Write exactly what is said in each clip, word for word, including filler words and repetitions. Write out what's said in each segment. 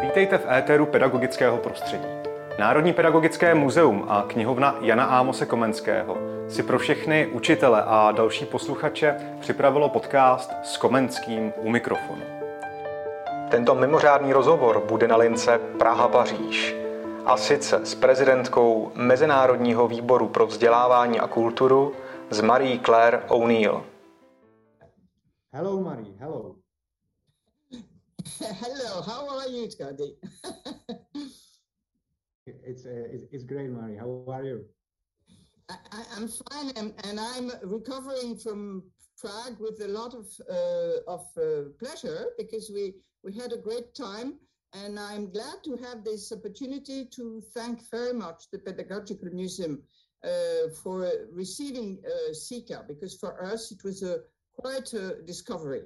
Vítejte v éteru pedagogického prostředí. Národní pedagogické muzeum a knihovna Jana Ámose Komenského si pro všechny učitele a další posluchače připravilo podcast s Komenským u mikrofonu. Tento mimořádný rozhovor bude na lince Praha-Paříž. A sice s prezidentkou Mezinárodního výboru pro vzdělávání a kulturu, s Marie Claire O'Neill. Hello, Marie. Hello. Hello. How are you, Scotty? it's, uh, it's great, Marie. How are you? I, I'm fine, and, and I'm recovering from Prague with a lot of uh, of uh, pleasure because we we had a great time. And I'm glad to have this opportunity to thank very much the Pedagogical Museum uh, for receiving uh, SICA, because for us it was a quite a discovery.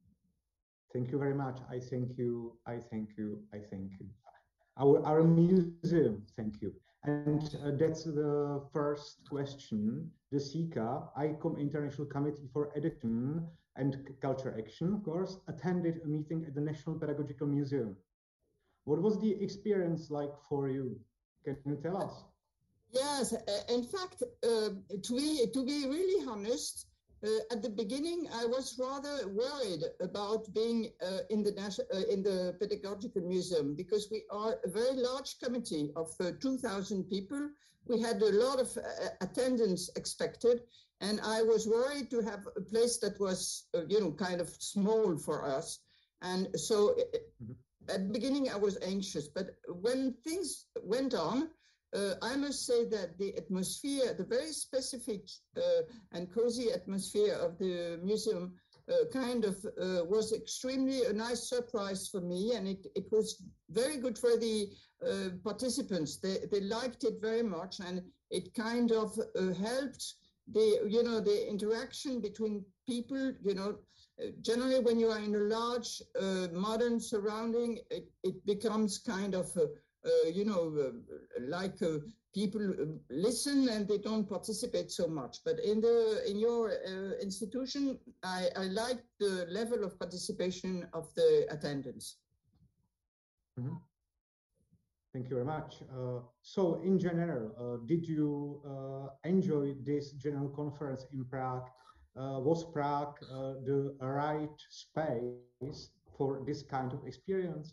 Thank you very much. I thank you. I thank you. I thank you. Our, our museum, thank you. And uh, that's the first question. The SICA, I C O M International Committee for Education and Culture Action, of course, attended a meeting at the National Pedagogical Museum. What was the experience like for you? Can you tell us? Yes, uh, in fact, uh, to be to be really honest, uh, at the beginning I was rather worried about being uh, in the uh, in the Pedagogical Museum because we are a very large committee of uh, two thousand people. We had a lot of uh, attendance expected, and I was worried to have a place that was, uh, you know, kind of small for us, and so. Mm-hmm. At the beginning, I was anxious, but when things went on, uh, I must say that the atmosphere, the very specific uh, and cozy atmosphere of the museum uh, kind of uh, was extremely a nice surprise for me, and it, it was very good for the uh, participants. They, they liked it very much, and it kind of uh, helped the, you know, the interaction between people, you know. Uh, generally, when you are in a large, uh, modern surrounding, it, it becomes kind of, uh, uh, you know, uh, like uh, people listen and they don't participate so much. But in the in your uh, institution, I, I like the level of participation of the attendance. Mm-hmm. Thank you very much. Uh, so, in general, uh, did you uh, enjoy this general conference in Prague? Uh, was Prague uh, the right space for this kind of experience?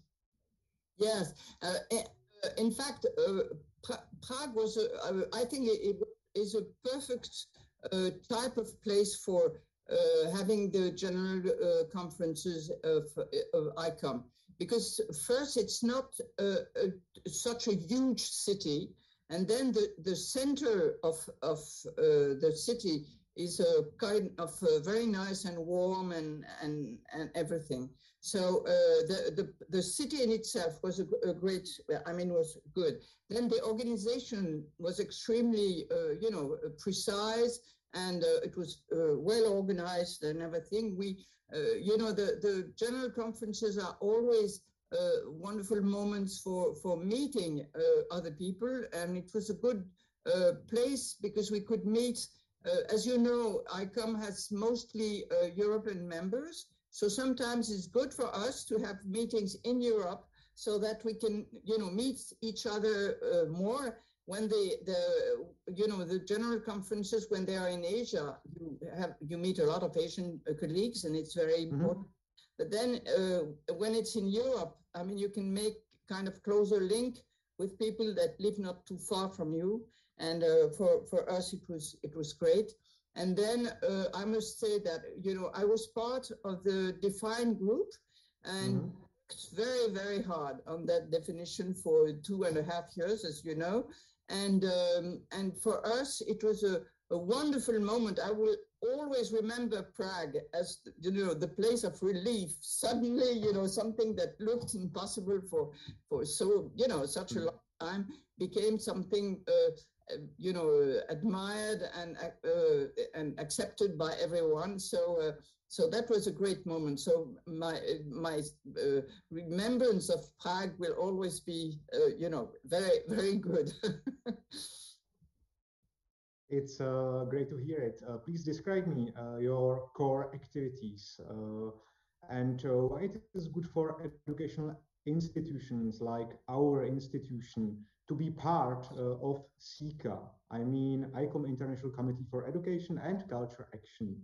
Yes. Uh, in fact, uh, pra- Prague was, a, I think it, it is a perfect uh, type of place for uh, having the general uh, conferences of, of I C O M. Because first, it's not uh, a, such a huge city. And then the, the center of, of uh, the city is a kind of uh, very nice and warm and and, and everything. So uh, the, the the city in itself was a, a great, I mean, was good. Then the organization was extremely, uh, you know, precise, and uh, it was uh, well organized and everything. We, uh, you know, the, the general conferences are always uh, wonderful moments for, for meeting uh, other people, and it was a good uh, place because we could meet. Uh, as you know, I C O M has mostly uh, European members, so sometimes it's good for us to have meetings in Europe so that we can, you know, meet each other uh, more. When the, the, you know, the general conferences, when they are in Asia, you have you meet a lot of Asian uh, colleagues, and it's very important. Mm-hmm. But then uh, when it's in Europe, I mean, you can make kind of closer link with people that live not too far from you. And uh, for, for us, it was it was great. And then uh, I must say that, you know, I was part of the DEFINE group and mm-hmm. worked very, very hard on that definition for two and a half years, as you know. And um, and for us, it was a, a wonderful moment. I will always remember Prague as, you know, the place of relief. Suddenly, you know, something that looked impossible for, for so, you know, such mm-hmm. a long time became something uh, you know, admired and uh, and accepted by everyone. So uh, so that was a great moment. So my my uh, remembrance of Prague will always be, uh, you know, very very good. It's uh, great to hear it. Uh, please describe me uh, your core activities uh, and uh, why it is good for educational institutions like our institution to be part uh, of SICA? I mean, ICOM International Committee for Education and Culture Action.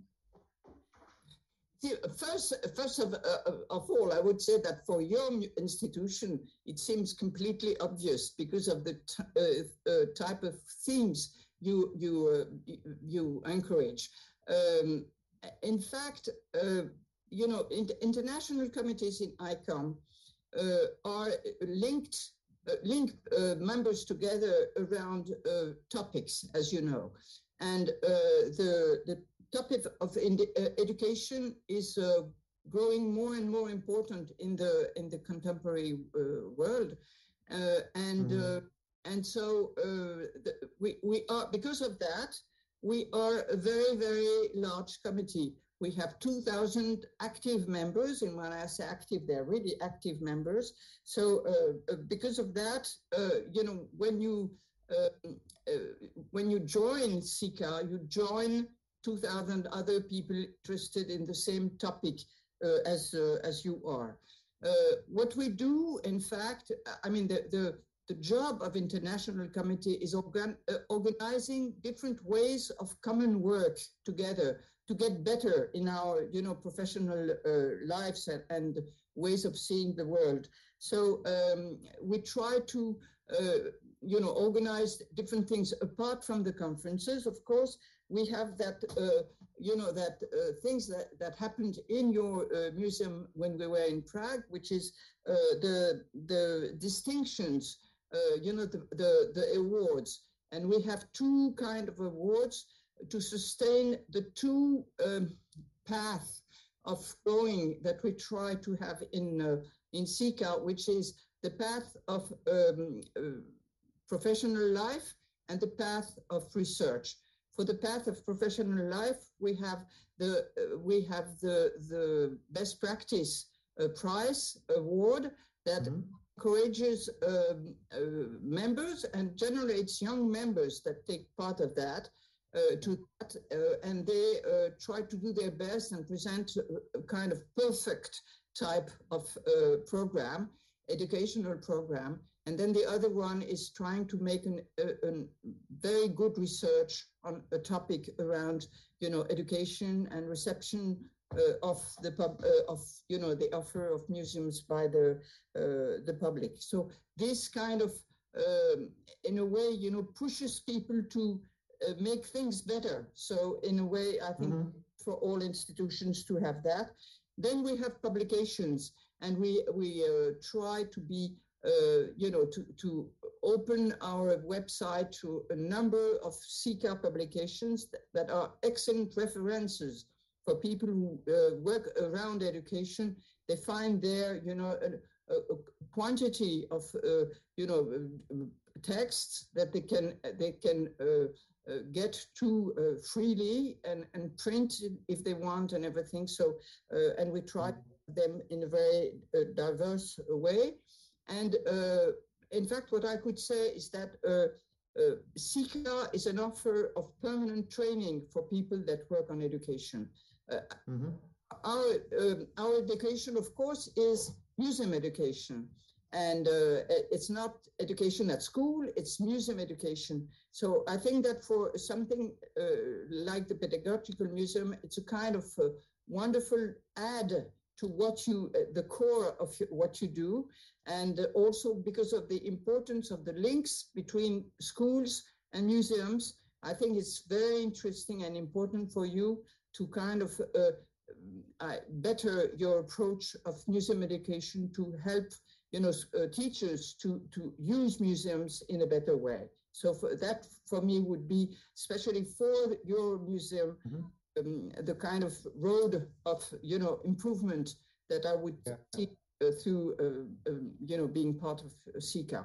First, first of, uh, of all, I would say that for your institution, it seems completely obvious because of the t uh, uh, type of themes you you uh, you encourage. Um, in fact, uh, you know, in international committees in ICOM uh, are linked uh, link uh, members together around uh, topics, as you know, and uh, the the topic of uh, education is uh, growing more and more important in the in the contemporary uh, world, uh, and mm-hmm. uh, and so uh, the, we we are because of that we are a very very large committee. We have two thousand active members, and when I say active, they're really active members. So uh, because of that, uh, you know, when you uh, uh, when you join SICA, you join two thousand other people interested in the same topic uh, as uh, as you are. Uh, what we do, in fact, I mean, the the, the job of International Committee is organ uh, organizing different ways of common work together to get better in our, you know, professional uh, lives and, and ways of seeing the world. So um, we try to, uh, you know, organize different things apart from the conferences, of course. We have that, uh, you know, that uh, things that, that happened in your uh, museum when we were in Prague, which is uh, the the distinctions, uh, you know, the, the, the awards. And we have two kind of awards to sustain the two um, paths of going that we try to have in, uh, in SICA, which is the path of um, uh, professional life and the path of research. For the path of professional life, we have the uh, we have the the best practice uh, prize award that mm-hmm. encourages um, uh, members and generates young members that take part of that uh, to that, uh, and they uh, try to do their best and present a, a kind of perfect type of uh, program, educational program. And then the other one is trying to make an, a, a very good research on a topic around, you know, education and reception uh, of the pub, uh, of, you know, the offer of museums by the uh, the public. So this kind of, um, in a way, you know, pushes people to uh, make things better. So in a way, I think mm-hmm. for all institutions to have that. Then we have publications, and we we uh, try to be. Uh, you know, to, to open our website to a number of SICA publications that, that are excellent references for people who uh, work around education. They find there, you know, a, a, a quantity of, uh, you know, uh, texts that they can they can uh, uh, get to uh, freely and, and print if they want and everything. So, uh, and we try them in a very uh, diverse way. And uh, in fact, what I could say is that uh, uh, SICA is an offer of permanent training for people that work on education. Uh, mm-hmm. Our um, our education, of course, is museum education, and uh, it's not education at school; it's museum education. So I think that for something uh, like the Pedagogical Museum, it's a kind of uh, wonderful add to what you, uh, the core of what you do, and uh, also because of the importance of the links between schools and museums, I think it's very interesting and important for you to kind of uh, uh, better your approach of museum education to help, you know, uh, teachers to, to use museums in a better way. So for that, for me, would be, especially for your museum, mm-hmm. Um, the kind of road of, you know, improvement that I would yeah. see uh, through, uh, um, you know, being part of uh, SICA.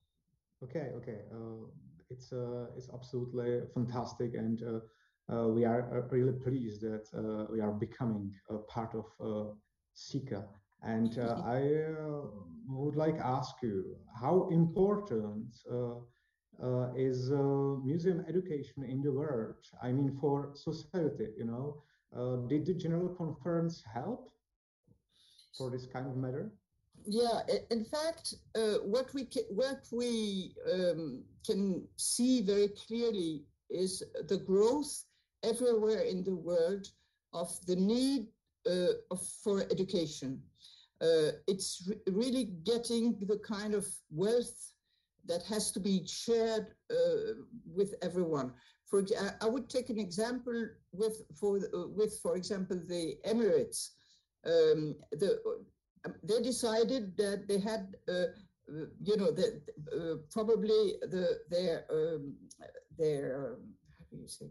Okay, okay. Uh, it's uh, it's absolutely fantastic, and uh, uh, we are uh, really pleased that uh, we are becoming a part of uh, SICA. And uh, I uh, would like to ask you, how important uh, Uh, is uh, museum education in the world? I mean, for society, you know, uh, did the General Conference help for this kind of matter? Yeah, in fact, uh, what we can, what we um, can see very clearly is the growth everywhere in the world of the need uh, of, for education. Uh, it's re- really getting the kind of wealth that has to be shared uh, with everyone. For I would take an example with for uh, with for example the Emirates. Um, the they decided that they had, uh, you know, that uh, probably the their um, their um, how do you say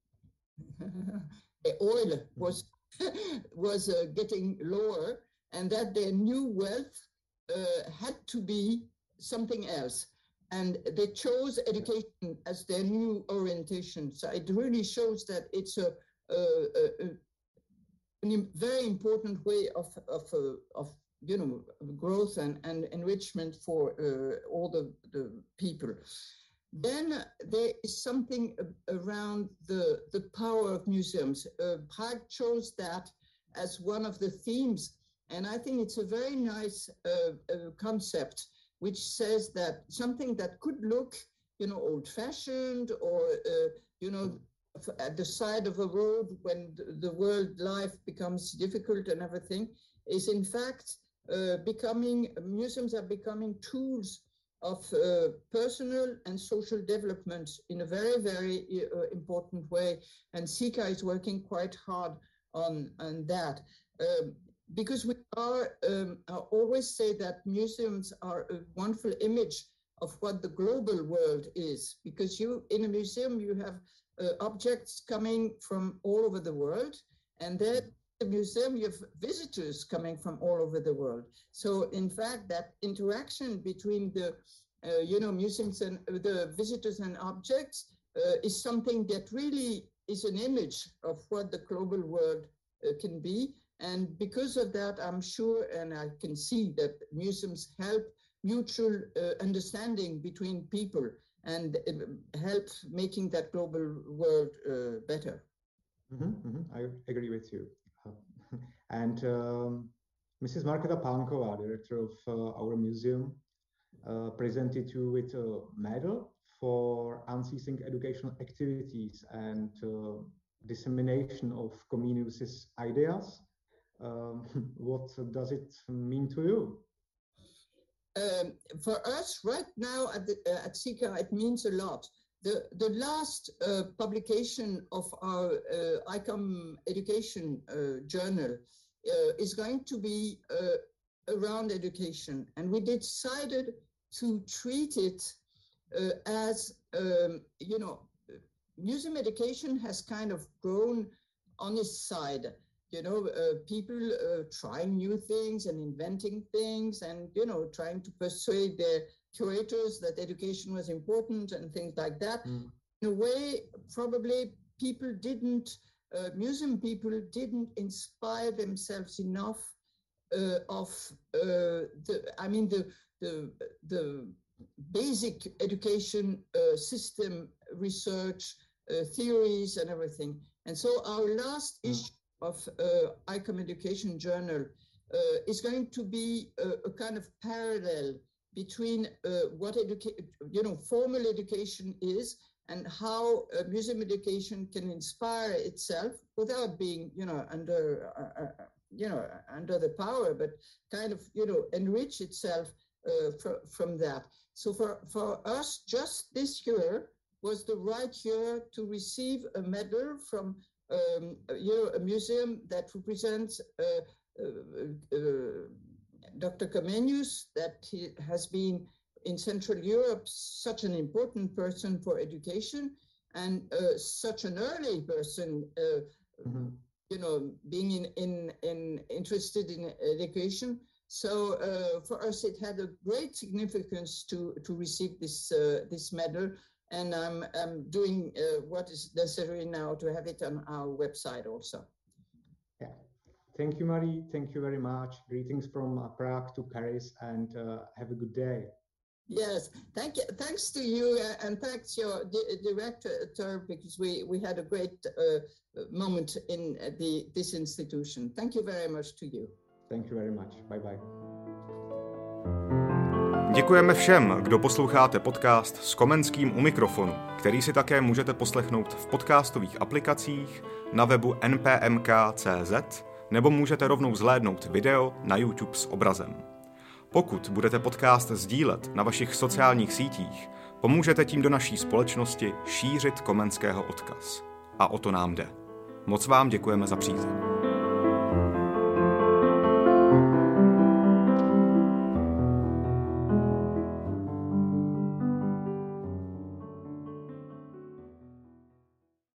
the oil was was uh, getting lower, and that their new wealth uh, had to be something else. And they chose education as their new orientation. So it really shows that it's a, a, a, a very important way of of uh, of you know growth and, and enrichment for uh, all the, the people. Then there is something around the the power of museums. Uh, Prague chose that as one of the themes, and I think it's a very nice uh, uh, concept, which says that something that could look, you know, old-fashioned or uh, you know. at the side of a road when the world life becomes difficult and everything, is in fact uh, becoming, museums are becoming tools of uh, personal and social development in a very, very uh, important way. And SICA is working quite hard on, on that. Um, because we are, um, I always say that museums are a wonderful image of what the global world is. Because you, in a museum, you have Uh, objects coming from all over the world, and then the museum you have visitors coming from all over the world. So in fact that interaction between the uh, you know museums and uh, the visitors and objects uh, is something that really is an image of what the global world uh, can be. And because of that, I'm sure, and I can see that museums help mutual uh, understanding between people and help making that global world uh, better. Mm-hmm, mm-hmm. I agree with you. Uh, and um, Missus Markéta Pánkova, director of uh, our museum, uh, presented you with a medal for unceasing educational activities and uh, dissemination of Comenius's ideas. Um, what does it mean to you? Um, for us right now at, the, uh, at SICA, it means a lot. The, the last uh, publication of our uh, ICOM education uh, journal uh, is going to be uh, around education. And we decided to treat it uh, as, um, you know, museum education has kind of grown on its side. You know, uh, people uh, trying new things and inventing things and, you know, trying to persuade their curators that education was important and things like that. Mm. In a way, probably people didn't, uh, museum people didn't inspire themselves enough uh, of uh, the, I mean, the, the, the basic education uh, system, research, uh, theories and everything. And so our last mm. issue of uh, ICOM Education Journal uh, is going to be a, a kind of parallel between uh, what education, you know, formal education is and how uh, museum education can inspire itself without being, you know, under, uh, uh, you know, under the power, but kind of, you know, enrich itself uh, fr- from that. So for, for us, just this year was the right year to receive a medal from Um, you know, a museum that represents uh, uh, uh, Doctor Comenius, that he has been in Central Europe such an important person for education and uh, such an early person, uh, mm-hmm. you know, being in, in, in interested in education. So uh, for us, it had a great significance to, to receive this, uh, this medal. And I'm, I'm doing uh, what is necessary now to have it on our website also. Yeah. Thank you, Marie. Thank you very much. Greetings from uh, Prague to Paris, and uh, have a good day. Yes, thank you. Thanks to you, uh, and thanks your di- director, because we, we had a great uh, moment in the this institution. Thank you very much to you. Thank you very much. Bye-bye. Děkujeme všem, kdo posloucháte podcast s Komenským u mikrofonu, který si také můžete poslechnout v podcastových aplikacích, na webu n p m k tečka c z nebo můžete rovnou zhlédnout video na YouTube s obrazem. Pokud budete podcast sdílet na vašich sociálních sítích, pomůžete tím do naší společnosti šířit Komenského odkaz. A o to nám jde. Moc vám děkujeme za přízeň.